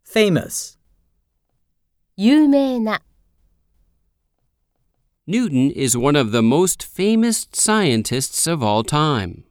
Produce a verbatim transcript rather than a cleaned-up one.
famous, 有名な、 Newton is one of the most famous scientists of all time.